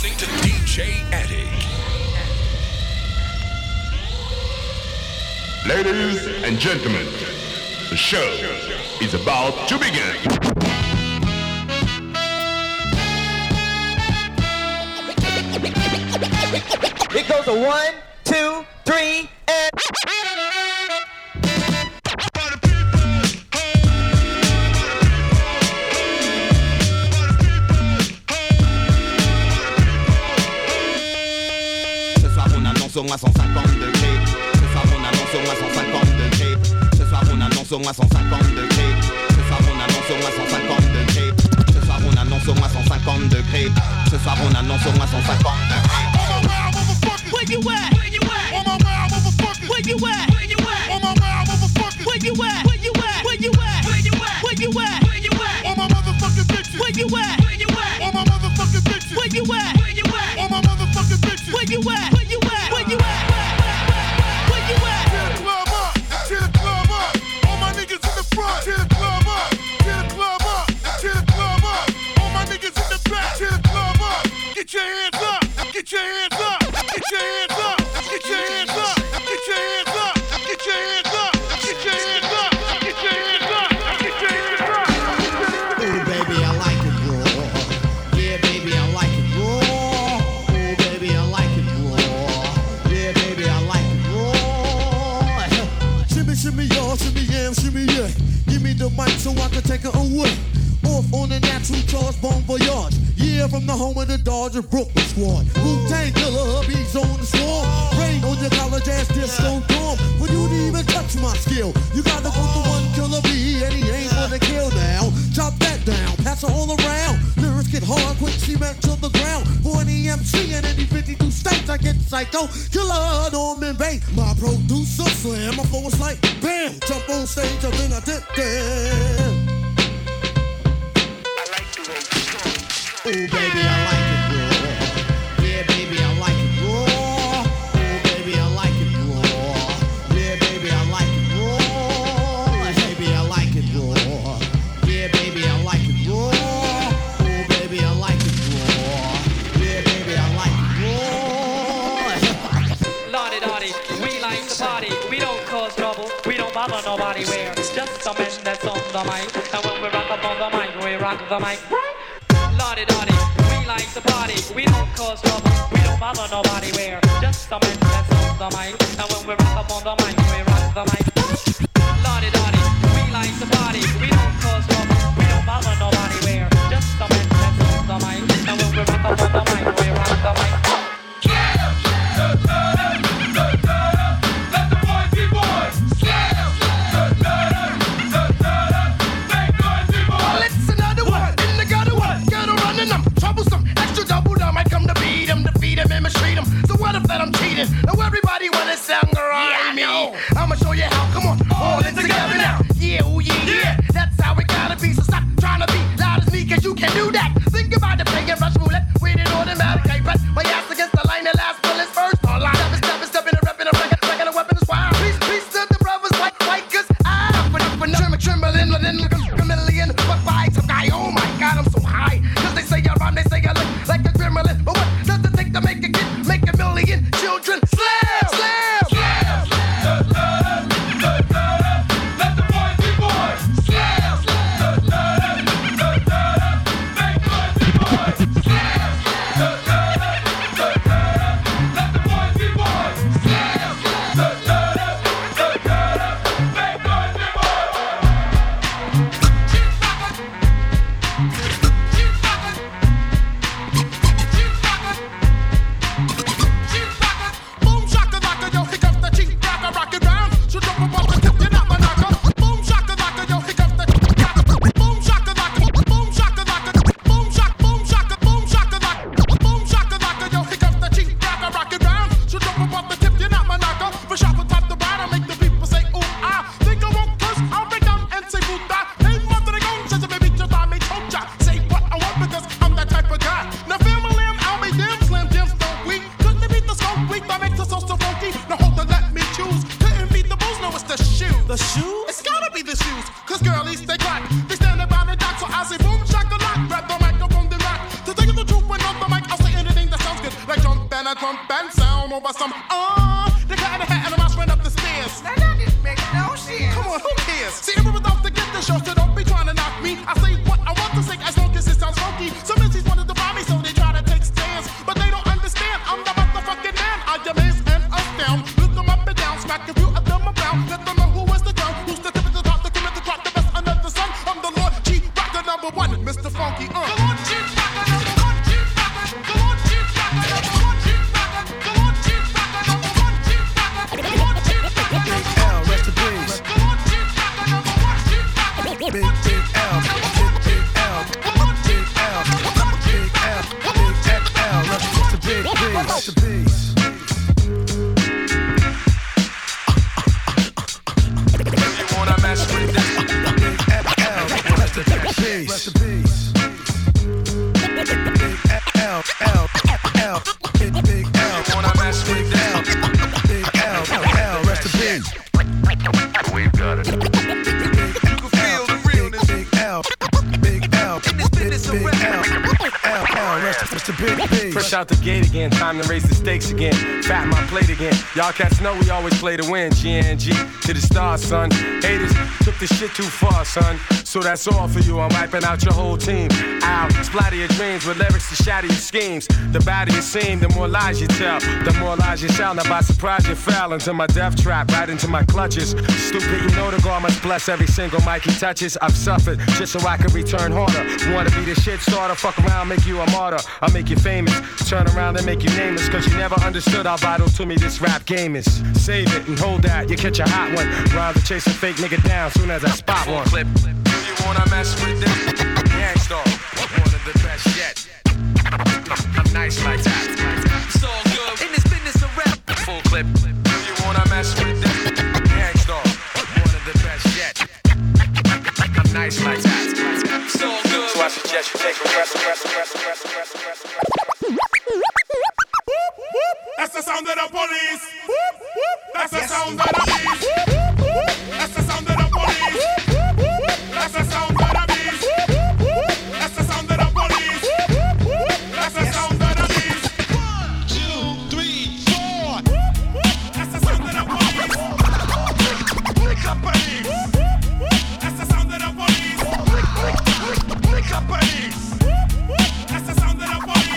listening to DJ Attic. Ladies and gentlemen, the show is about to begin. It goes a 1, 2, 3, and... Ce soir on annonce au moins 150 degrés. Ce soir on annonce au moins 150 degrés. Ce soir on annonce au moins 150 degrés. Ce soir on annonce au moins 150 degrés. Ce soir on annonce au moins 150 degrés. Ce soir on annonce au moins 150 degrés. Where you at? Where you at? On my wild motherfucker. Where you at? Where you at? On my wild motherfucker. Where you at? Where you at? Where you at? Where you at? Where you at? Where you at? On my motherfucking bitches. Where you at? Where you at? On my motherfucking bitches. Where you at? Where you at? On my motherfucking bitches. Where you at? Where you at? Where you at? Where you at? Tear the club up. Tear the club up. All my niggas in the front. Tear the club up. Tear the club up. Tear the club up. All my niggas in the back. Tear the club up. Get your hands up. Get your hands up. Get your hands up. Get your hands up. Get your hands up. Get your hands up. Get your hands up. Get your hands up. Get your hands up. Ooh, baby, I like it raw. Yeah, baby, I like it raw. Ooh, baby, I like it raw. Yeah, baby, I like it raw. Shimmy, shimmy, y'all, shimmy, yam, shimmy, yeah. Give me the mic so I can take it away. Off on the natural charge, bon voyage. Yeah, from the home of the Dodger Brooklyn squad. Wu-Tang Killer, hubby's on the swarm. Rain on your college ass disco dorm. For you to even touch my skill, you gotta go to one killer B, and he ain't gonna kill now. Chop that down, pass it all around. Lyrics get hard, quick cement to the ground. For any MC in any 52 states, I get psycho. Killer, Norman Bates, my producer slam. My flow is like bam, jump on stage and then I dip there. Ooh, baby, I like it raw. Yeah, baby, I like it raw. Ooh, baby, I like it raw. Yeah, baby, I like it raw. Baby, I like it raw. Yeah, baby, I like it raw. Ooh, baby, I like it raw. Yeah, baby, I like it raw. Lordy, lordy, we like to party. We don't cause trouble. We don't bother nobody. We're just a man that's on the mic. And when we rock up on the mic, we rock the mic. Lordy, lordy, we like to party. We don't cause trouble. We don't bother nobody. We're just a man that's on the mic. And when we rock up on the mic, we rock the mic. Lordy, lordy, we like to party. We don't cause trouble. We don't bother nobody. We're just a man that's on the mic. And when we rock up on the mic, we rock the mic. Let the boys be boys. Let's another one in the gutter one. Gutter running them, troublesome, extra double. I might come to beat him, defeat him, and mistreat him. So what if that I'm cheating? Now everybody wanna sound around me. I'ma show you how. Come on, all in together now. Yeah, oh yeah, yeah. That's how it gotta be. So stop trying to be loud as me, 'cause you can do that. Think about the play and rush roulette with an automatic. I bet my ass against the line. The last bullets first. All line up and stepping and repping a record, a weapon is wild. Peace to the brothers, white, 'cause I'm trembling, a million buck bites. I'm guy, oh my God, I'm so high. 'Cause they say I rhyme, they say I look like a gremlin. But what does it take to make a kid, make a million children? Slam, slam, slam. Let the boys be boys. Slam, slam. Make noise. a crump and sound over some they got in a hat and a mouse ran up the stairs. Now that didn't make no sense. Come on, who cares? See, everyone's out to get the show, so don't be trying to knock me. I say what I want to say as long as it sounds funky. Some MCs wanted to buy me, so they try to take stands, but they don't understand. I'm the motherfucking man. I amaze and astound. Look them up and down, smack a few of them around. Let them know who is the crown, who's the tip of the top, the cream of the crop, the best under the sun. I'm the Lord G Rocker number one, Mr. Funky. The Lord G Rocker number one, G Rocker. The Lord G Rocker number one, G Rocker. The Lord G Rocker number one, G Rocker. The Lord G Rocker number one, rest in peace. The Lord G Rocker number one, G Rocker. Big L, big L, big L, big L, rest in big peace, rest in peace. You wanna mess with this? Big L, rest in peace, rest in peace. Big L, big L, You wanna mess with this? big L, rest in peace. We've got it. You can feel the realness. Big L, big L, big L, rest in peace. Fresh out the gate again, time to raise the stakes again. Fat my plate again. Y'all cats know we always play to win. GNG to the stars, son. Haters took this shit too far, son. So that's all for you. I'm wiping out your whole team. Ow, splatter your dreams with lyrics to shatter your schemes. The badder you seem, the more lies you tell. The more lies you shall. Now by surprise you fell into my death trap, right into my clutches. Stupid, you know the God must bless every single mic he touches. I've suffered just so I can return harder. Wanna be the shit starter, fuck around, make you a martyr. I'll make you famous, turn around and make you nameless. Cause you never understood how vital to me this rap game is. Save it and hold that, you catch a hot one. Rhyme to chase a fake nigga down soon as I spot one. Clip. You wanna mess with this? Gangstar, one of the best yet. I'm nice like that. It's all good in this business of rap. Full clip. You wanna mess with this? Gangstar, one of the best yet. I'm nice like that. It's all good. So I suggest you take a rest. That's the sound of the police. That's the sound of the beast. That's the sound of the police. That's the sound of the beast. That's the sound of the police. That's the sound of the beast. 1, 2, 3, 4. That's the sound of the police. Lick up police. That's the sound of the police. Lick up police. That's the sound of the police.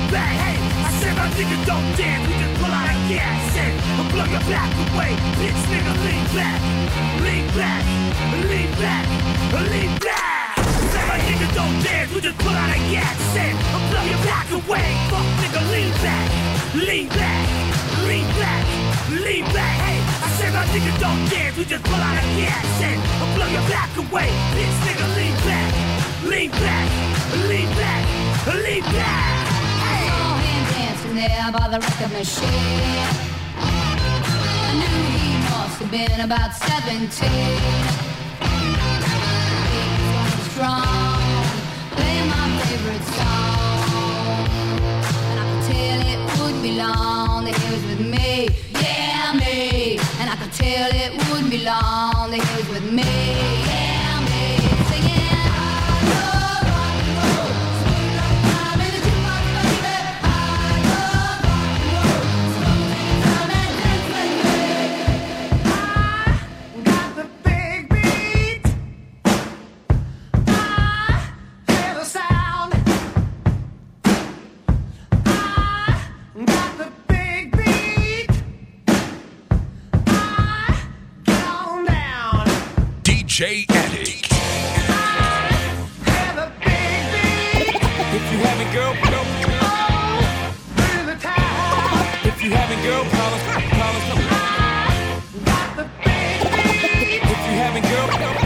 back. Hey, I said my nigga don't dance, we just pull out a gas and blow your back away. Bitch nigga, lean back, lean back, lean back, lean back. I said my nigga don't dance, we just pull out a gas and blow your back away. Fuck nigga, lean back, lean back, lean back, lean back. Hey, I said my nigga don't dance, we just pull out a gas and blow your back away. Bitch nigga, lean back, lean back, lean back, lean back. Hey. Saw him dancing there by the record machine. I knew he must have been about 17. He was strong, playing my favorite song, and I could tell it wouldn't be long that he was with me. Yeah, me. And I could tell it wouldn't be long that he was with me. Yeah, me. Singing, I love rock and roll. I'm in the jukebox, baby. I love rock and roll. Come and dance with me. I got the big beat. I hear the sound. I got the big beat. I get on down. DJ Attic. Hear the big beat. If you having girl, Oh, through the town. if you having girl problems, Got the big beat. if you having girl,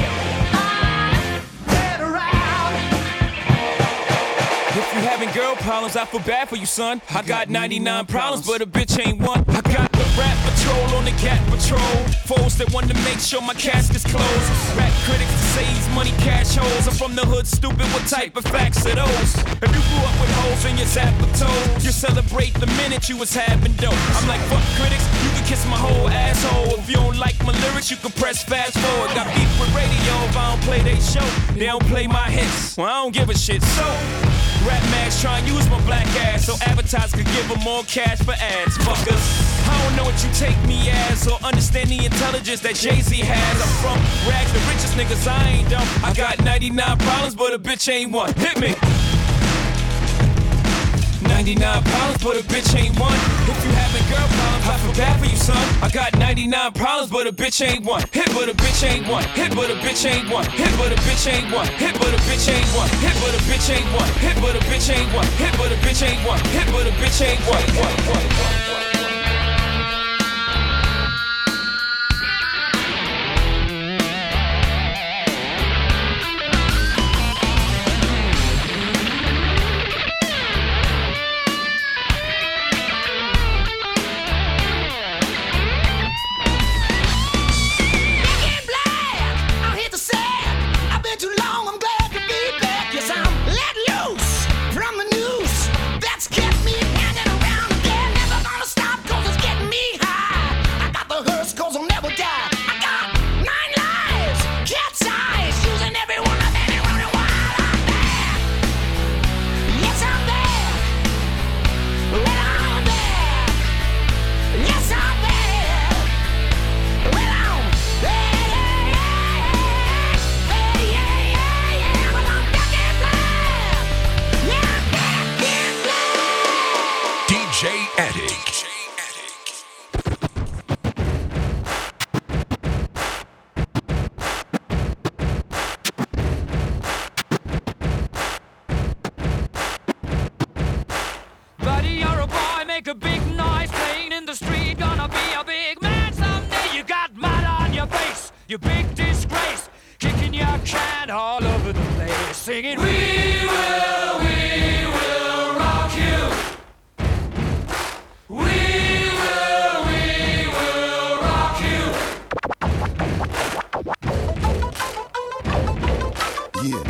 Get around. if you having girl problems, I feel bad for you, son. I got 99 problems, but a bitch ain't one. I got the rap patrol on the cat patrol. Foes that want to make sure my casket's closed. Rap critics to say he's money cash holes. I'm from the hood, stupid. What type of facts are those? If you grew up with holes in your zapper toes, you celebrate the minute you was having dope. I'm like, fuck critics, you can kiss my whole asshole. If you don't like my lyrics, you can press fast forward. Got beef with radio if I don't play they show. They don't play my hits, well I don't give a shit. So rap mags try and use my black ass so advertisers could give them more cash for ads. Fuckers, I don't know what you take me as or understand the intelligence that Jay-Z has. I'm from rags, the richest niggas, I ain't dumb. I got 99 problems, but a bitch ain't one. Hit me. 99 problems, but a bitch ain't one. If you having girl problems, I feel bad for you, son. I got 99 problems, but a bitch ain't one. Hit, but a bitch ain't one. Hit, but a bitch ain't one. Hit, but a bitch ain't one. Hit, but a bitch ain't one. Hit, but a bitch ain't one. Hit, but a bitch ain't one. Hit, but a bitch ain't one. Hit, but a bitch ain't one. I'm here to say, I've been too long, I'm glad to be back. Yes, I'm let loose from the noose that's kept me hanging around again. Never gonna stop, cause it's getting me high. I got the hearse, cause I'll never die. I got 9 lives, cat's eyes, using every one of them and running wild. I'm there. Yes, I'm there. Well, I'm there. Yes, I'm there. Well, I'm there. DJ Attic. Buddy, you're a boy, make a big noise, playing in the street, gonna be a big man someday. You got mud on your face, you big disgrace, kicking your can all over the place, singing, we will rock you. We will rock you. Yeah.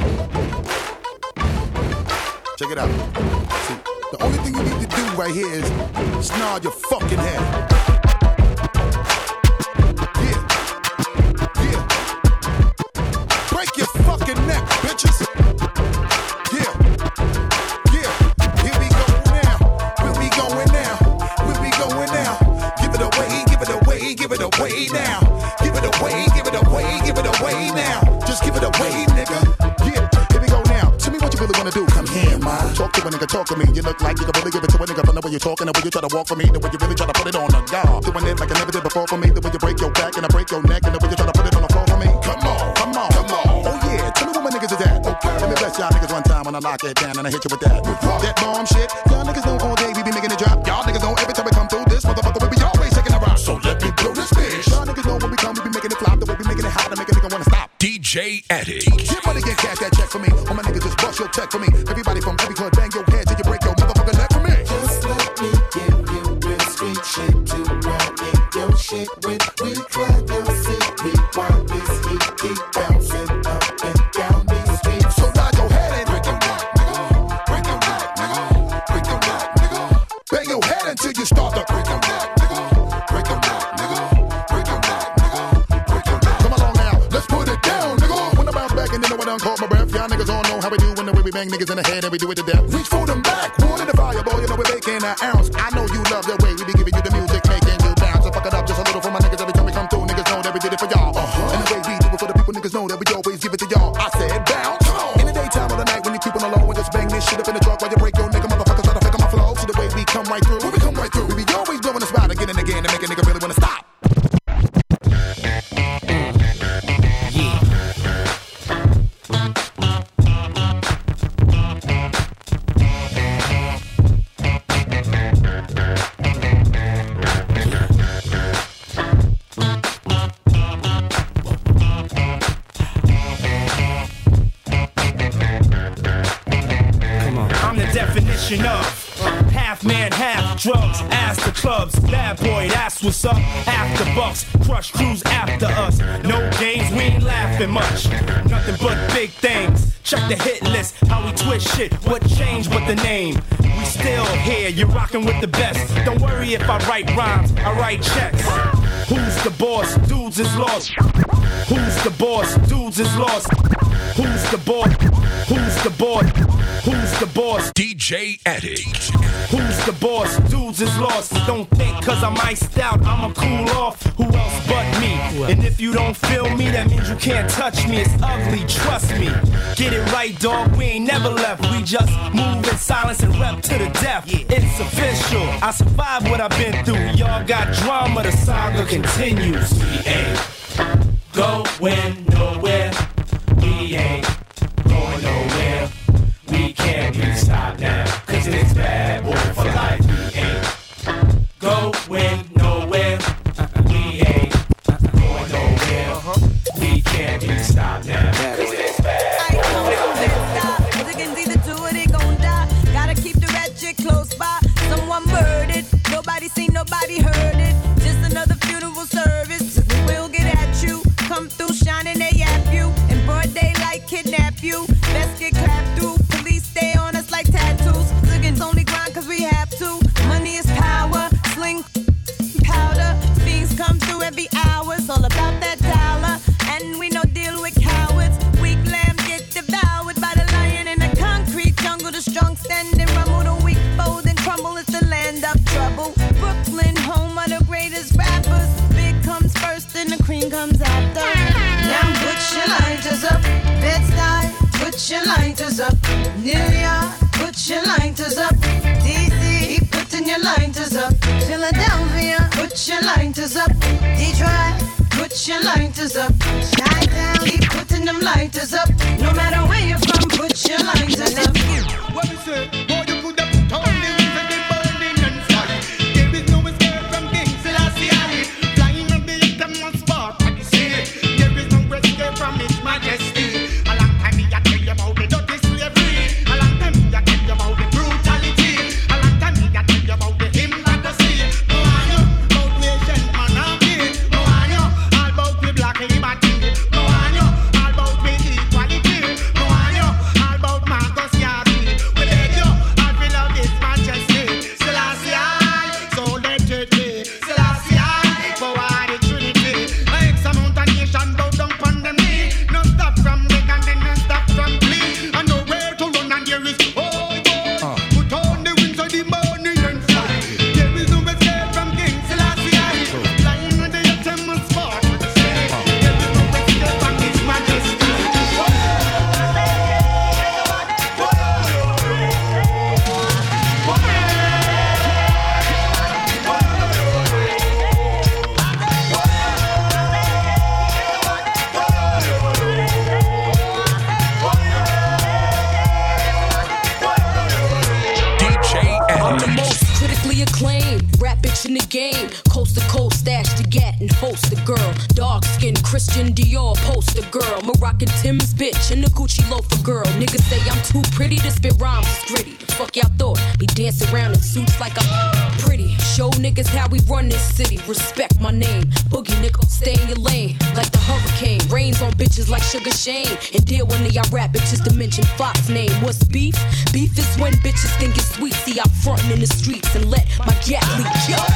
Check it out. See, the only thing you need to do right here is snarl your fucking head. Yeah. Yeah. Break your fucking neck, bitches. Yeah. Yeah. Here we go now. Where we going now? Where we going now? Give it away, give it away, give it away now. Give it away, give it away, give it away now. Just give it away, nigga. Yeah. Here we go now. Tell me what you really wanna do. Come here, ma. Talk to a nigga talk to me. You look like you can really give it to a nigga from the way you're talking, the way you try to walk for me, the way you really try to put it on the guard. Doing it like I never did before for me, the way you break your back and I break your neck, and the way you try to put it on the floor for me. Come on, come on, come on. Oh yeah, tell me where my niggas is at. Okay, let me bless y'all niggas one time when I lock it down and I hit you with that. That bomb shit. Y'all niggas know all day we be making it drop. Y'all niggas know every time we come through this motherfucker we be always taking a rock. So let me blow this bitch. Y'all niggas know when we come we be making it flop. The way we making it hot to make a nigga wanna stop. DJ Addict. Get money, get cash, that check for me. All my niggas just bust your check for me. Everybody from every club bang your head till you break your motherfucking neck for me. Just let me give you real street shit to run in your shit when we try your seat. We want this heat keep bouncing up and down these streets. So nod your head and break your neck, nigga. Break your neck, nigga. Break your neck, nigga. Bang your head until you start to break your neck, nigga. Break your neck, nigga. Break your neck, nigga. Break your neck. Come along now, let's put it down, nigga. When I bounce back and then I done caught my breath. Y'all niggas all know how we do when the way we bang niggas in the head and we do it to death. Reach for them back, water the fire, boy. You know we're making an ounce. I know you love the way we be giving you the music, making you bounce. So fuck it up just a little for my niggas every time we come through. Niggas know that we did it for y'all. And the way we do it for the people, niggas know that we always give it to y'all. I said bounce. In the daytime or the night when you keep on the low and just bang this shit up in the truck while you break your nigga motherfuckers try to fake on my flow. See the way we come right through. When we come right through, we be always blowing the spot again and again to make a nigga really wanna stop. Of half man, half drugs, ass the clubs, bad boy, that's what's up. After bucks, crush crews after us. No games, we ain't laughing much. Nothing but big things. Check the hit list, how we twist shit. What changed but the name? We still here, you're rocking with the best. Don't worry if I write rhymes, I write checks. Who's the boss? Dudes is lost. Who's the boss? Dudes is lost. Who's the boss? Who's the boss? Who's the boss? DJ Addict. Who's the boss? Dudes is lost. Don't think cause I'm iced out, I'ma cool off. Who else but me? And if you don't feel me, that means you can't touch me. It's ugly, trust me. Get it right, dog, we ain't never left. We just move in silence and rep to the death. It's official, I survived what I've been through. Y'all got drama, the saga continues. We ain't going nowhere. We ain't going nowhere. We can't be stopped now, cause it's bad boy for life. We ain't going nowhere. We ain't going nowhere. We can't be stopped now, cause it's bad boy. Niggas either do it, they gon' die. Gotta keep the ratchet close by. Someone murdered, nobody seen, nobody heard it. Just another funeral service. We'll get at you. Come through shining, they yap you. In broad daylight, kidnap you. Best get clapped through. Police stay on us like tattoos. Liggins only grind cause we have to. Money is power. Sling powder. Fiends come through every hour. It's all about that dollar. And we no deal with cowards. Weak lambs get devoured by the lion in the concrete jungle. The strong stand and rumble. The weak fold and crumble. It's the land of trouble. Brooklyn, home of the greatest rappers. Big comes first and the cream comes after. Now put your lighters up. Bed-Stuy, put your lighters up. New York, put your lighters up. DC, keep putting your lighters up. Philadelphia, put your lighters up. Detroit, put your lighters up. Chi-Town, keep putting them lighters up. No matter where you're from, put your lighters up. What we say? Boy, you could have put on the wings and the burning and fly. There is no escape from King Selassie. Flying on the uttermost spot, what you say? There is no escape from His Majesty. A long time me I tell you about the dirty slavery. A long time me I tell you about the brutality. A long time me I tell you about the hypocrisy. No I know about nation monarchy. No I know all about the black liberty. No I know all about the equality. No I know all about Marcus Garvey. We beg you. most critically acclaimed rap bitch in the game. Coast to coast, stash the gat and host the girl. Dark skin, Christian Dior poster girl. Moroccan Tim's bitch and the Gucci loafer girl. Niggas say I'm too pretty to spit rhymes, it's gritty. The fuck y'all thought? Be dancing around in suits like I'm pretty. Show niggas how we run this city. Respect my name. Boogie nigga, stay in your lane. Like the hurricane. Rains on bitches like Sugar Shane. And deal when y'all rap bitches to mention Fox name. What's beef? Beef is when bitches think it's sweet. See, I'm frontin' in the streets and let my gat leak. Yo!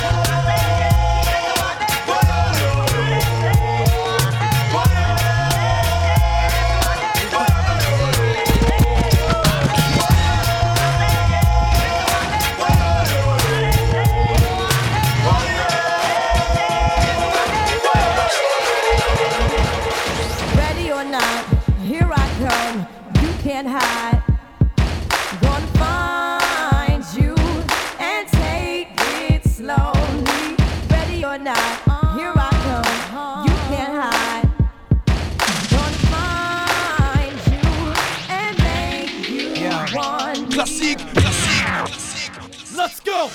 Can't hide. Gonna find you and take it slowly. Ready or not, here I come. You can't hide. Gonna find you and make you one. Classique, classique. Let's go.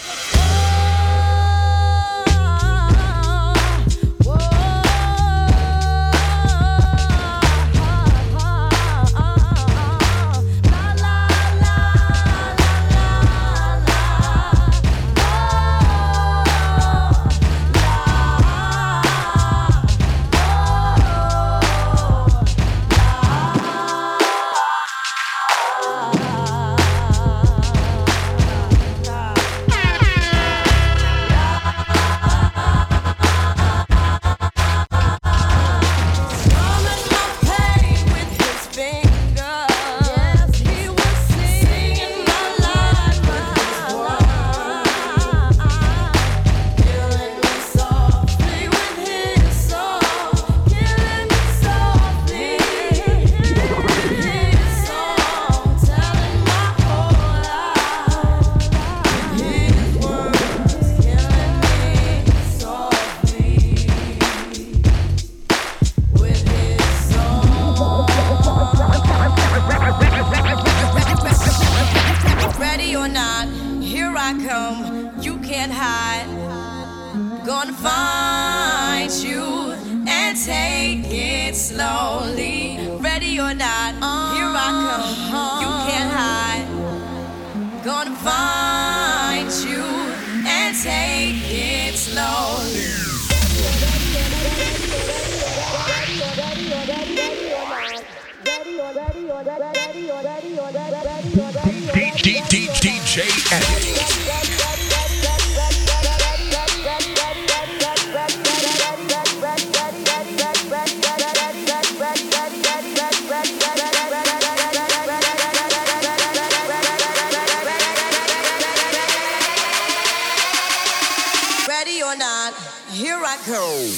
DJ Eddie. Ready or not, here I go.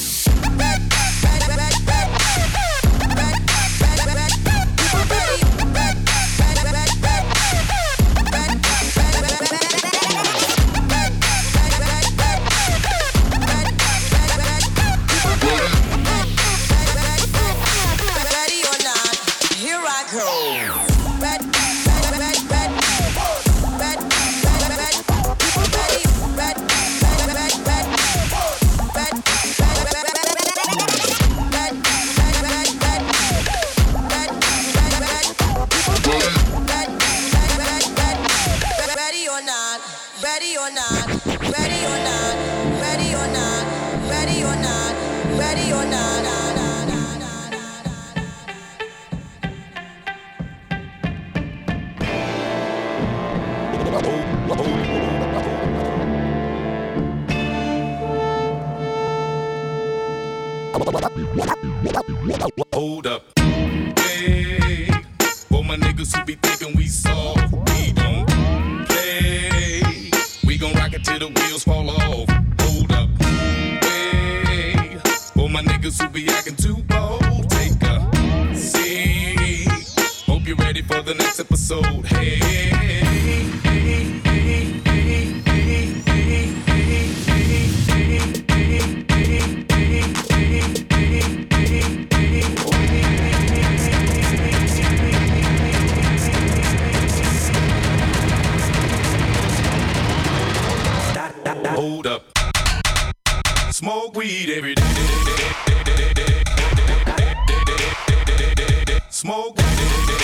Hold up. Hey, for my niggas who be thinking we soft, we don't play. We gon' rock it till the wheels fall off. Hold up. Hey, for my niggas who be acting too bold, take a seat. Hope you're ready for the next episode. Hey, hey, hey, hey, hey, hey, hey, Hold up. Smoke weed every day. Smoke weed.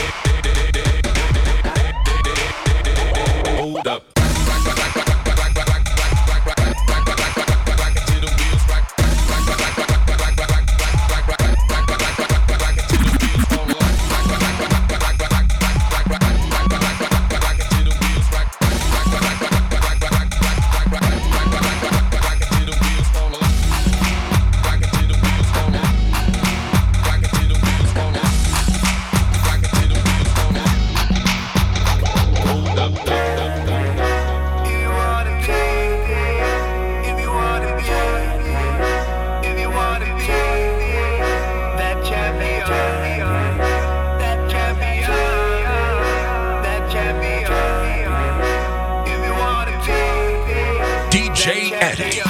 Hold up. DJ Eddie.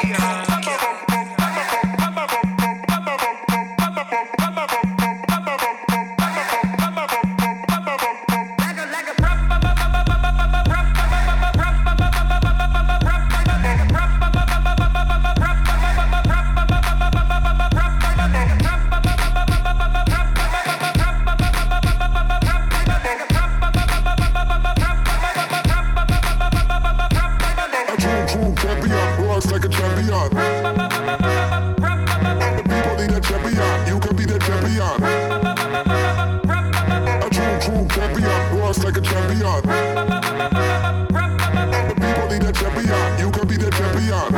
Like a champion. The people need a champion. You can be the champion. A true champion. Roars like a champion. The people need a champion. You can be the champion.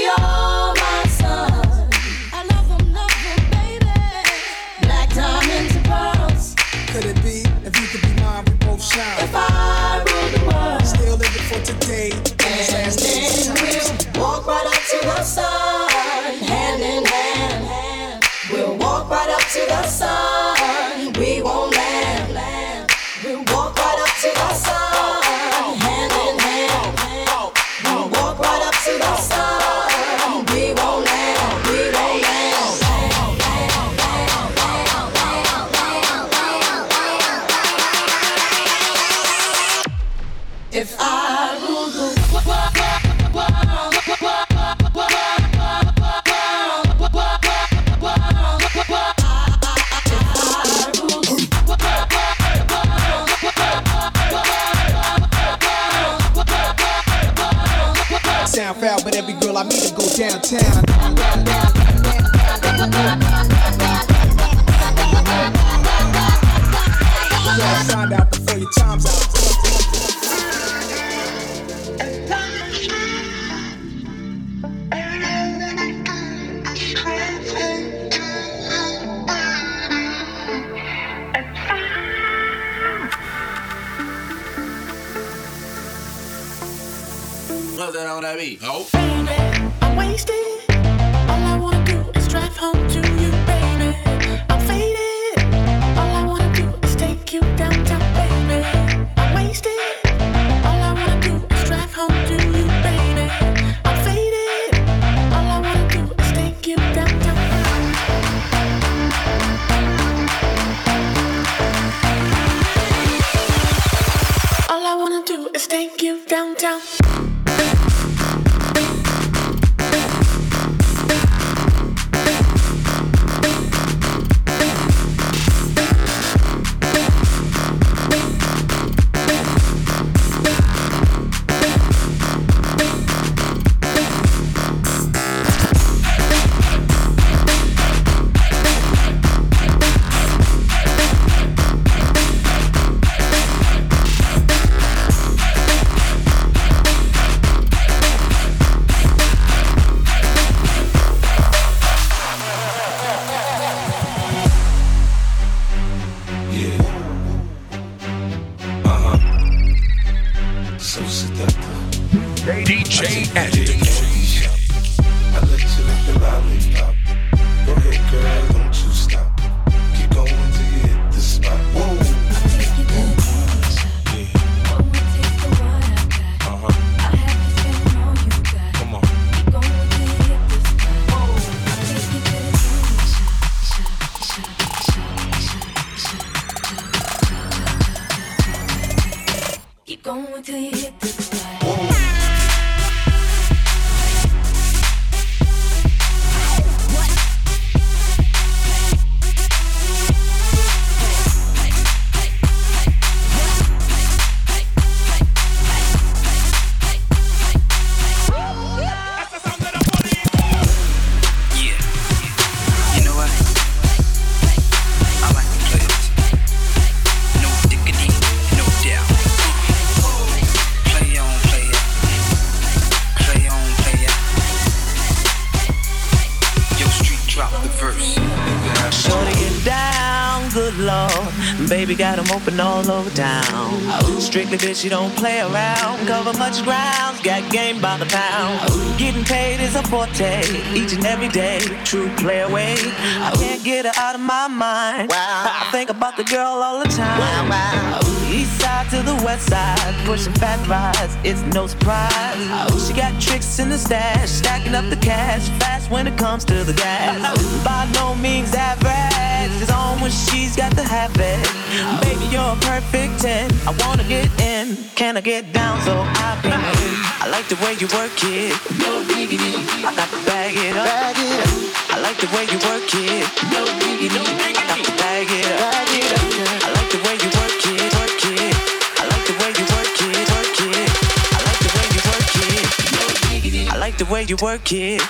are my son. I love them, baby. Black diamonds and pearls. Could it be, if you could be mine, we both shine. If I rule the world. Still living for today. And then we'll walk right up to the sun. Hand in hand. We'll walk right up to the sun. We won't land. We'll walk right up to the sun. Hand in hand. We'll walk right up to the sun. We won't land. We won't land. If I rule the world. Sound foul, but every girl I meet to go downtown. Yeah, signed out before your time's out. What's that on that beat? Oh. Baby, I'm wasted. All I wanna do is drive home to you, baby. I'm faded. All I wanna do is take you downtown, baby. I'm wasted. All I wanna do is drive home to you, baby. I'm faded. All I wanna do is take you downtown. All I wanna do is take you downtown. DJ Andy. I let you lick the lollipop. Go ahead, girl, don't you stop. Keep going till you hit the spot. Whoa. Come on. Keep going till you hit the spot. Baby got them open all over town. Strictly bitch, you don't play around. Cover much ground, got game by the pound. Getting paid is a forte, each and every day. True play away, I can't get her out of my mind. I think about the girl all the time. East side to the west side, pushing fat rides, it's no surprise. She got tricks in the stash, stacking up the cash, fast when it comes to the gas. By no means average, it's on when she's got the habit. Baby, you're a perfect 10, I wanna get in. Can I get down so I can win? I like the way you work it, no diggity. I got to bag it up, I like the way you work it, no diggity. I got to bag it up, I like the way you work it, work it. I like the way you work it, work it. I like the way you work it, no diggity. I like the way you work it.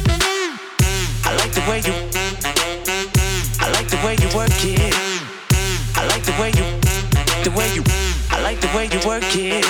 I like the way you work it. I like the way you, I like the way you work it.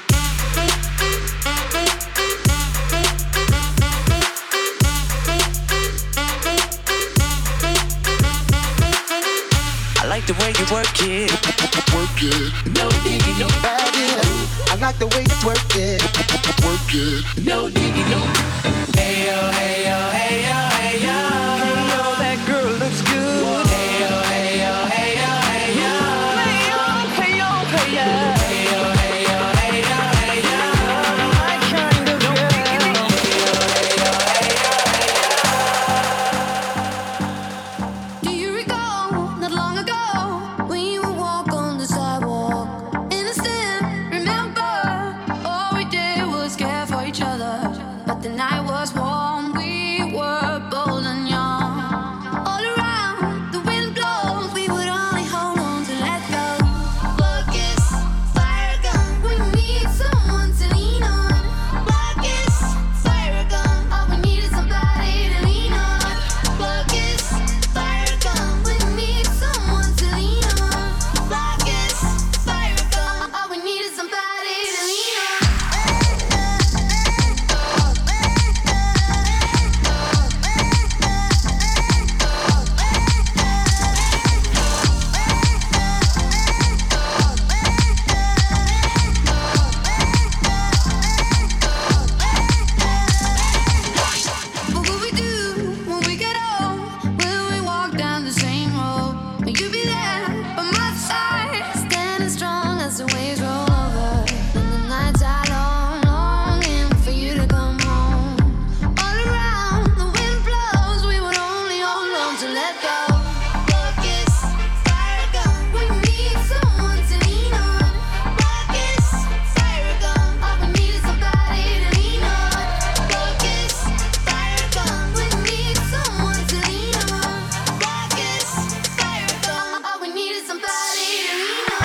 I like the way you work it. Work it. No diggy, no baggy. I like the way you work it. Work it. No diggy, no. Hey yo, hey yo, hey yo, hey yo. Hey yo, that girl looks good. Hey yo, hey yo, hey yo, hey yo. Hey yo, hey yo, hey yo. Hey yo, hey yo, hey yo, hey yo. My kind of girl. Hey yo, hey yo, hey yo, hey yo. Do you recall not long ago when you would walk on the sidewalk? Innocent, remember? All we did was care for each other. But the night was warm, we were bold and young. All around, the wind blows, we would only hold on to let go. Focus, fire gun, we need someone to lean on. Focus, fire gun, all we need is somebody to lean on. Focus, fire gun, we need someone to lean on. Focus, fire gun, all we need is somebody to lean on. What will we do when we get old? Will we walk down the same road? Will you be there by my side, standing strong as the waves roll over? And the nights are long, longing for you to come home. All around, the wind blows, we would only hold on to let go. Focus, fire gun, we need someone to lean on. Focus, fire gun, all we need is somebody to lean on. Focus, fire gun, we need someone to lean on. Focus, fire gun, all we need is somebody to lean on.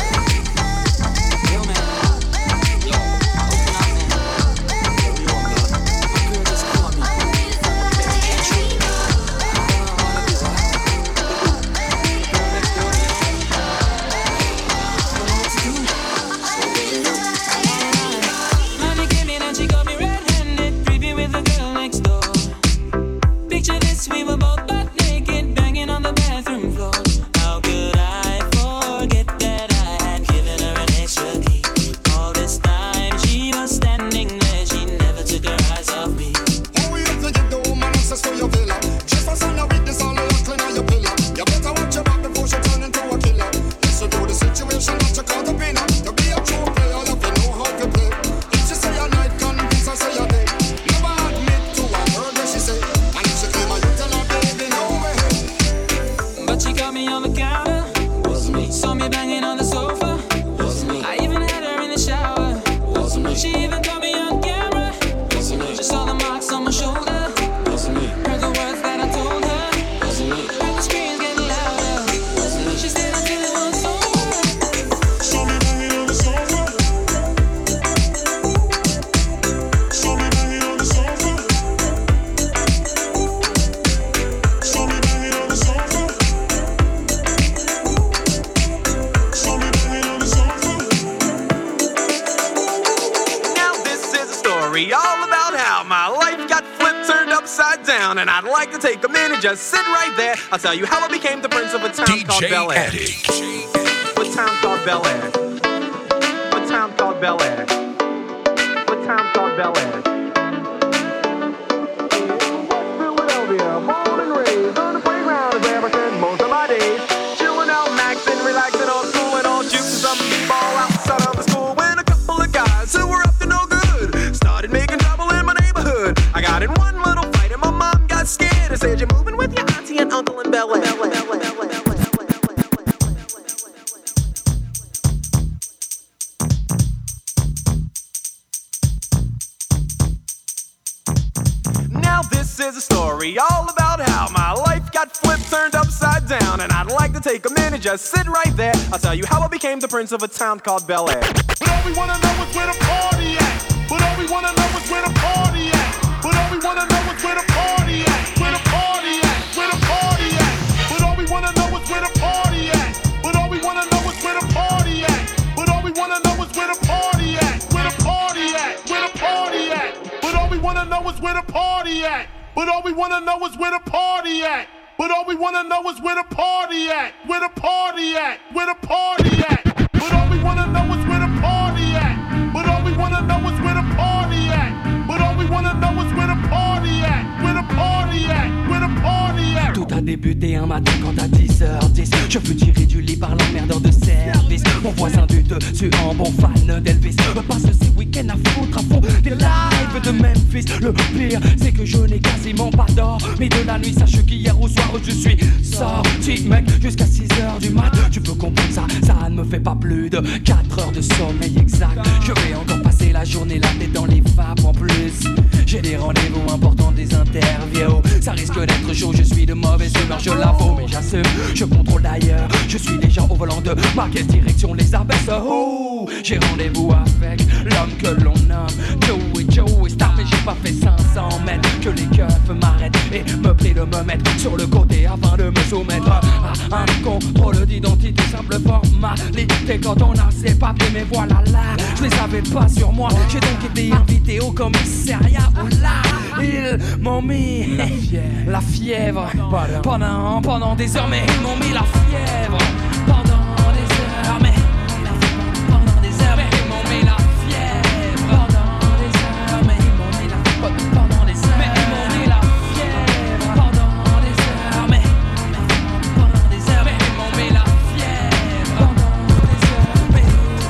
Mommy came in and she got me red-handed, creepy with the girl next door. Picture this, we were both butt naked, banging on the bathroom floor. How could I forget that I had given her an extra key? All this time she was standing there, she never took her eyes off me. Hurry up to get the woman access to your villa. Just for son of witness, all the work clean on your pillar. You better watch your back before she turn into a killer. Listen to the situation that you caught up in. To be a true player, you have to know how to play. If she say a night, convince her say a day. Never admit to a word that she say. And if she claim her, you tell her, baby, no way. But she got me on the counter, Wasn't me. saw me banging on the sofa. Wasn't me. I even had her in the shower. Wasn't me. She even got me on camera. Wasn't me. She saw the marks on my shoulder. Wasn't me. Heard the words that I told her. Wasn't me. Heard the screams getting louder. She stayed until it was over. Saw me banging on the sofa. Saw me banging on the sofa. Saw me banging on the sofa. Saw me banging on the sofa. Now this is a story all about how my life got flipped, turned upside down, and I'd like to take a minute, just sit right there. I'll tell you how I became the prince of a town called Bel Air. A town called Bel Air. A town called Bel Air. A town called Bel Air. Philadelphia, born and raised on the playground is where I spend most of my days. Chilling out, maxing, relaxing on school, and all juicing some ball outside of the school. When a couple of guys who were up to no good started making trouble in my neighborhood. I got in one little fight and my mom got scared and said, "You're moving with your auntie and uncle in Bel Air." Now this is a story all about how my life got flipped, turned upside down, and I'd like to take a minute, just sit right there. I'll tell you how I became the prince of a town called Bel Air. But all we wanna know is where the party at. But all we wanna know is where the party at. But all we wanna know is where the party at. Where the party at. Where the party at. But all we wanna know is where the party at. But all we party at. But all we wanna know is where the party at. But all we wanna know is where the party at. Where the party at. Where the party at. But all we wanna know is where the party at. But all we wanna know is where the party at. But all we wanna know is where the party at. Where the party at. Where the party at. Tout a débuté un matin quand à 10h10 je fus tiré du lit par l'emmerdeur de service. Mon voisin du dessus en bon fan d'Elvis me passe ces week-ends à foutre à fond des lives de Memphis. Le pire c'est que je n'ai quasiment pas d'or. Mais de la nuit sache qu'hier au soir je suis sorti mec jusqu'à 6h du mat. Tu peux comprendre ça, ça ne me fait pas plus de 4 heures de sommeil exact. Je vais encore passer la journée la tête dans les vapes en plus. J'ai des rendez-vous importants, des interviews. Ça risque d'être chaud, je suis de mauvaise humeur, je l'avoue, mais j'assume, je contrôle d'ailleurs. Je suis déjà au volant de ma quelle direction les abaisse. Oh, j'ai rendez-vous avec l'homme que l'on nomme Joey Star, mais j'ai pas fait 500 mètres que les keufs m'arrêtent et me prient de me mettre sur le côté afin de me soumettre à un contrôle d'identité, simple formalité. Quand on a ses papiers, mais voilà là, je les avais pas sur moi. J'ai donc été invité au commissariat où là, ils m'ont mis la fièvre pendant des heures, mais ils m'ont mis la fièvre pendant des heures, mais pendant des heures, mais ils m'ont mis la fièvre pendant des heures, mais ils m'ont mis la pendant des heures, mais ils m'ont mis la fièvre pendant des heures, mais pendant des heures, mais ils m'ont mis la fièvre pendant des heures, mais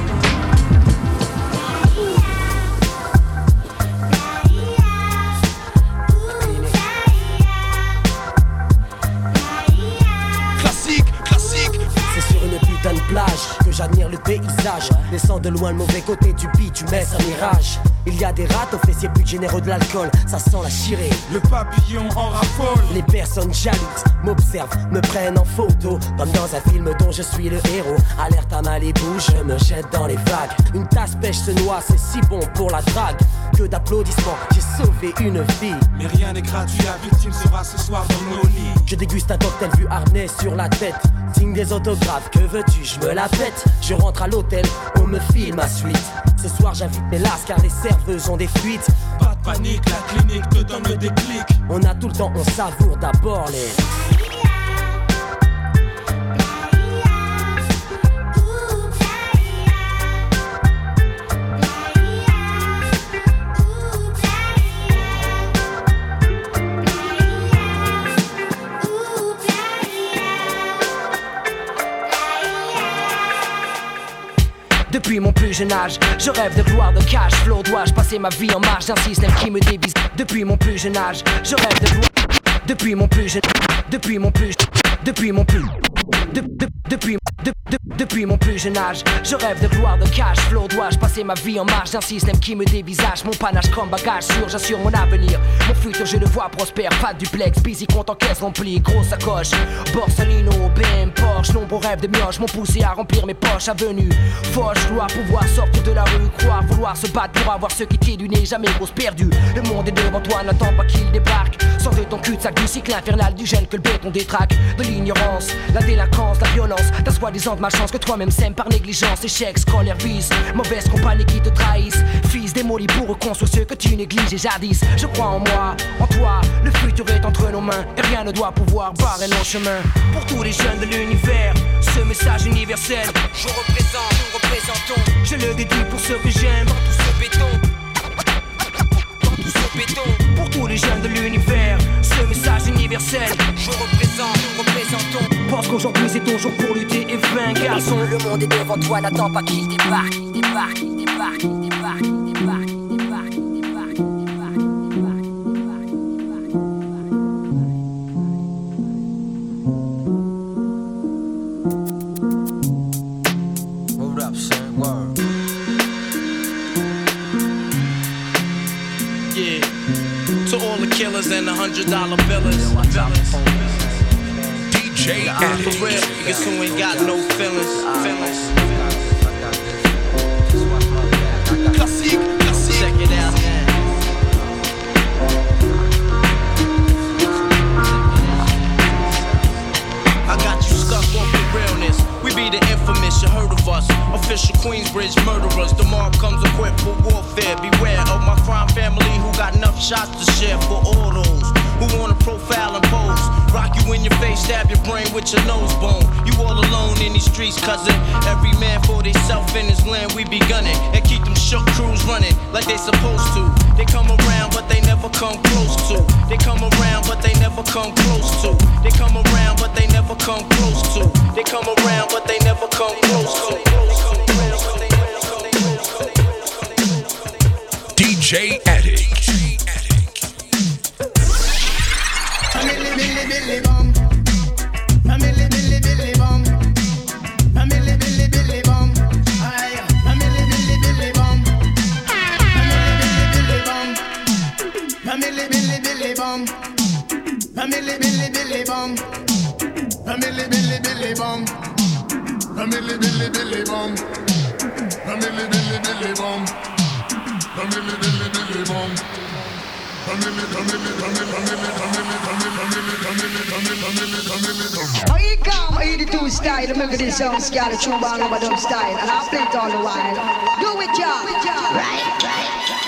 que j'admire le paysage. Laissant de loin le mauvais côté du bitumen, un mirage. Il y a des rats aux fessiers plus généreux de l'alcool. Ça sent la chirée, le papillon en raffole. Les personnes jalouses m'observent, me prennent en photo, comme dans un film dont je suis le héros. Alerte à Malibu, je me jette dans les vagues. Une tasse pêche se noie, c'est si bon pour la drague. Que d'applaudissements, j'ai sauvé une vie. Mais rien n'est gratuit, la victime sera ce soir dans nos lits. Je déguste un cocktail vu harnais sur la tête. Signe des autographes, que veux-tu, je me la pète. Je rentre à l'hôtel, on me file ma suite. Ce soir j'invite mes lasses car les serveuses ont des fuites. Pas de panique, la clinique te donne le déclic. On a tout le temps, on savoure d'abord les... Depuis mon plus jeune âge, je rêve de gloire, de cash flow. Dois-je passer ma vie en marge d'un système qui me dévise? Depuis mon plus jeune âge, je rêve de gloire. Depuis mon plus jeune âge, je rêve de gloire, de cash flow. Dois-je passer ma vie en marge d'un système qui me dévisage? Mon panache comme bagage sûr, j'assure mon avenir. Mon futur je le vois prospère, pas de duplex, busy, compte en caisse remplie, grosse sacoche, Borsalino, BM, Porsche. Nombreux rêves de mioche m'ont poussé à remplir mes poches. Avenue, Foch, gloire, pouvoir sortir de la rue, croire, vouloir se battre pour avoir ce qui t'est du nez, jamais grosse perdue. Le monde est devant toi, n'attends pas qu'il débarque. Sors de ton cul-de-sac du cycle infernal du gène que le béton détraque. De l'ignorance, la délinquance, la violence, ta soi-disant de malchance que toi-même sème par négligence. Échec, scolaire, vice, mauvaise compagnie qui te trahissent. Fils démoli pour reconstruire ce que tu négliges et jadis. Je crois en moi, en toi, le futur est entre nos mains et rien ne doit pouvoir barrer nos chemins. Pour tous les jeunes de l'univers, ce message universel, je représente, nous représentons. Je le dédie pour ceux que j'aime, dans tout ce béton. Dans tout ce béton. Pour tous les jeunes de l'univers, ce message universel, je représente, nous représentons. Pense qu'aujourd'hui c'est ton jour pour lutter et vaincre, garçon. Le monde est devant toi, n'attends pas qu'il débarque. Il débarque, il débarque, il débarque, il débarque, il débarque, il débarque, il débarque, il débarque. Hold up, son, word. Yeah, to all the killers and the $100 billers. DJ for real, niggas who ain't got no feelings. Classique, classique. Check it out. I got you stuck off the realness. We be the infamous infamous, you heard of us. Official Queensbridge murderers. The mob comes equipped for warfare. Beware of my crime family who got enough shots to share for all those who wanna profile and pose. Rock you in your face, stab your brain with your nose bone. You all alone in these streets, cousin. Every man for theyself in his land, we be gunning. And keep them shook crews running like they supposed to. They come around, but they never come close to. They come around, but they never come close to. They come around, but they never come close to. They come around, but they never come close to. DJ Attic. Billy Billy Bum, Billy Billy Billy Bum, Billy Billy Billy Bum, Billy Billy Billy Bum, Billy Billy Billy Bum, Billy Billy Billy Bum, Billy Billy Billy Bum, Billy Billy Billy Bum, Billy Billy Billy Bum, Billy Billy Billy Bum. How you come 82 style? Remember this song, Scarlet True Bang Overdub style, and I play it all the while. Do it, y'all. Right.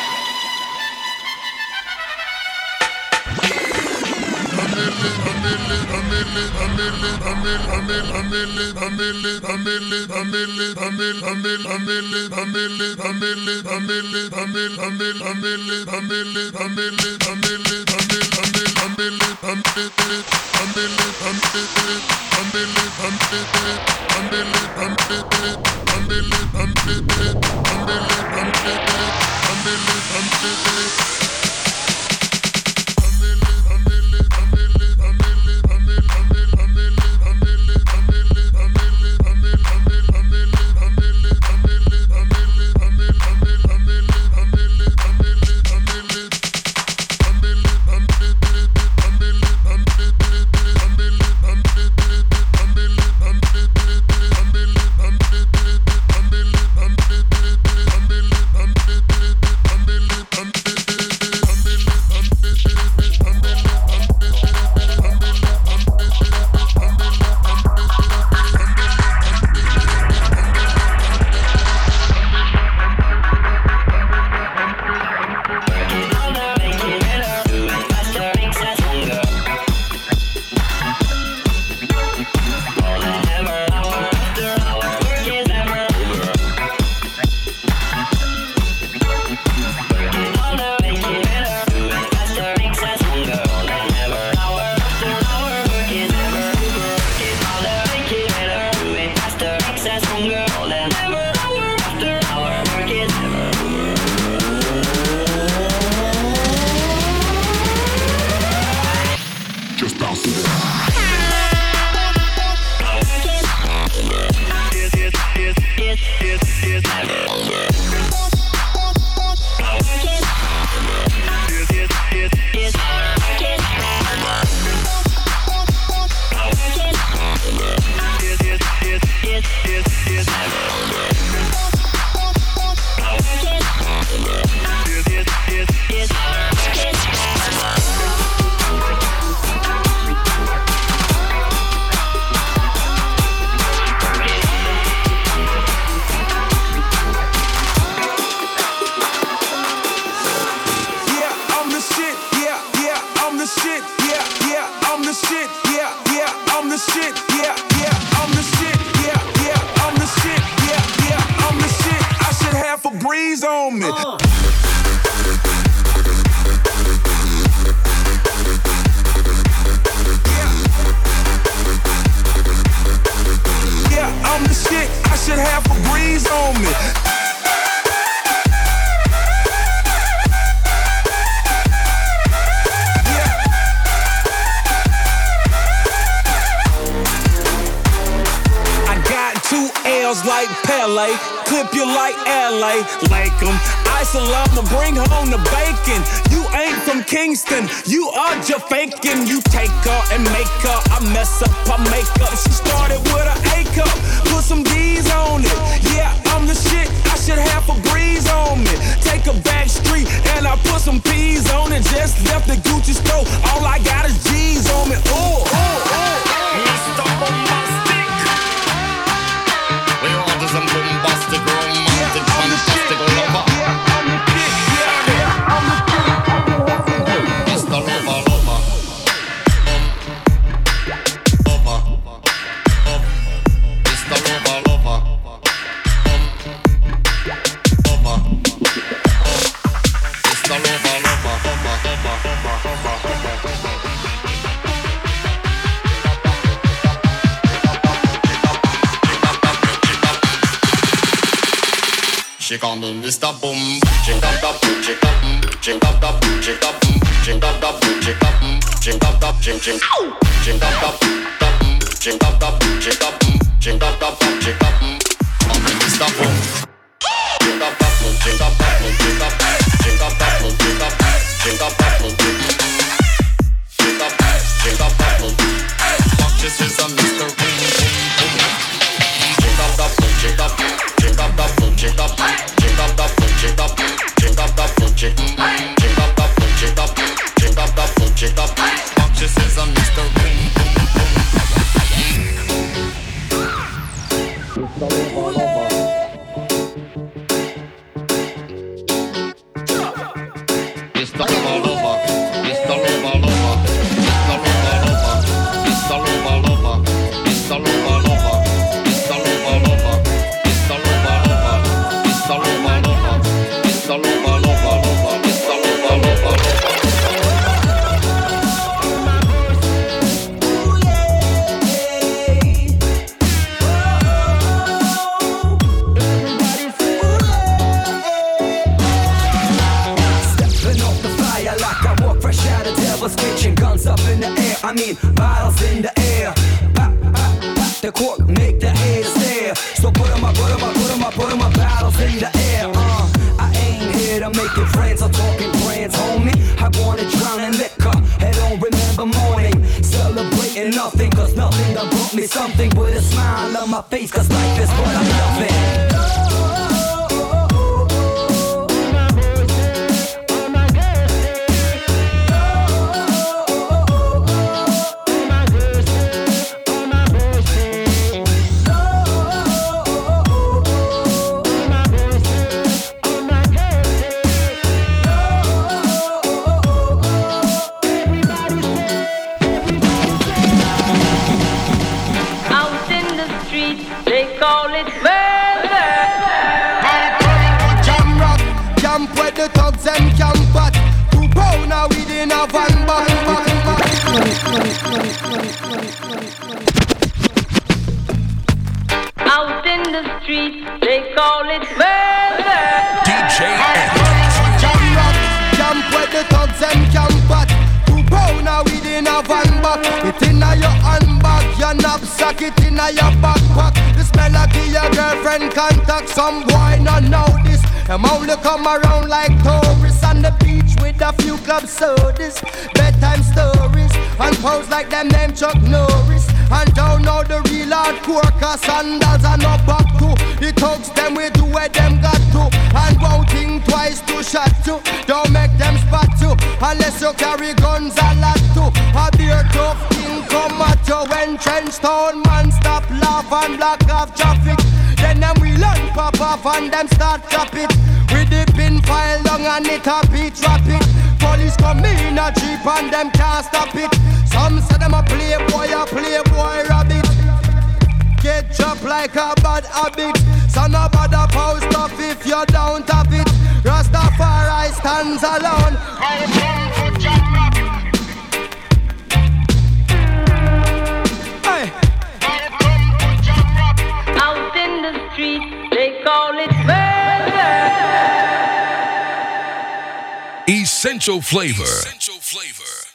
Like Pele, clip you like LA, like 'em. Isolama, bring home the bacon. You ain't from Kingston, you are just faking. You take her and make her, I mess up her makeup. She started with an A cup, put some D's on it. Yeah, I'm the shit, I should have a breeze on me. Take a back street and I put some P's on it. Just left the Gucci store, all I got is G's on me. Ooh, ooh, ooh. Mr. Bombastic. Mr. Lover, lover. Lover. Mr. Lover, lover. She call me Mr. Boom. Ching up up, ching up, ching up up, ching up, ching up up, ching up, ching up up, ching ching, ching up up, ching up up, ching up, ching up up, ching up. Call me Mr. Boom. Ching up up, ching up up, ching up, ching up up, ching up, ching up up, ching up, ching up up. Fuck this is a Mr. Boom. Ching up up, ching up, ching up up, ching up, ching up up, ching up, ching up up, ching up up, ching up, ching up up, ching up. Fuck this is a Mr. Boom. Mr. Lover, lover, Mr. Lover, lover, Mr. Lover, lover, Mr. Lover, lover, Mr. Lover, lover, Mr. Lover, lover, Mr. Lover, lover, Mr. Lover, lover, Mr. Lover, lover, lover, Mr. Lover, lover. Kitchen, guns up in the air, I mean bottles in the air. Pop, pop, pop the cork, make the haters stare. So put 'em up, bottles in the air. I ain't here to make it friends or talking brands, homie. I wanna drown in liquor, I don't remember morning. Celebrating nothing, cause nothing done brought me something. With a smile on my face, cause life is what I'm loving. Out in the street, they call it murder. DJ Jam rock, jump where the thugs and camp at. 2 pound a weed in a van back. It inna your handbag, your knapsack, it inna your backpack. The smell of your girlfriend contact. Some boy not know this. Them only come around like tourists on the beach with a few club sodas, bedtime stories, and pose like them name Chuck Norris. And don't know the real hardcore, cause sandals are no back to. The thugs them we do where them got to. And won't think twice to shot to. Don't make them spot you, unless you carry guns a lot to. A beer tough king come at you when trench town man stop laugh and block off traffic. Then them we learn pop off and them start clap it. With the pin file long and it a beat rapid. Police come in a jeep and them can't stop it. Some say them a playboy rabbit. Get dropped like a bad habit. So no bother post up if you don't have it. Rastafari stands alone. Hey. Out in the street, they call it murder. Essential Flavor.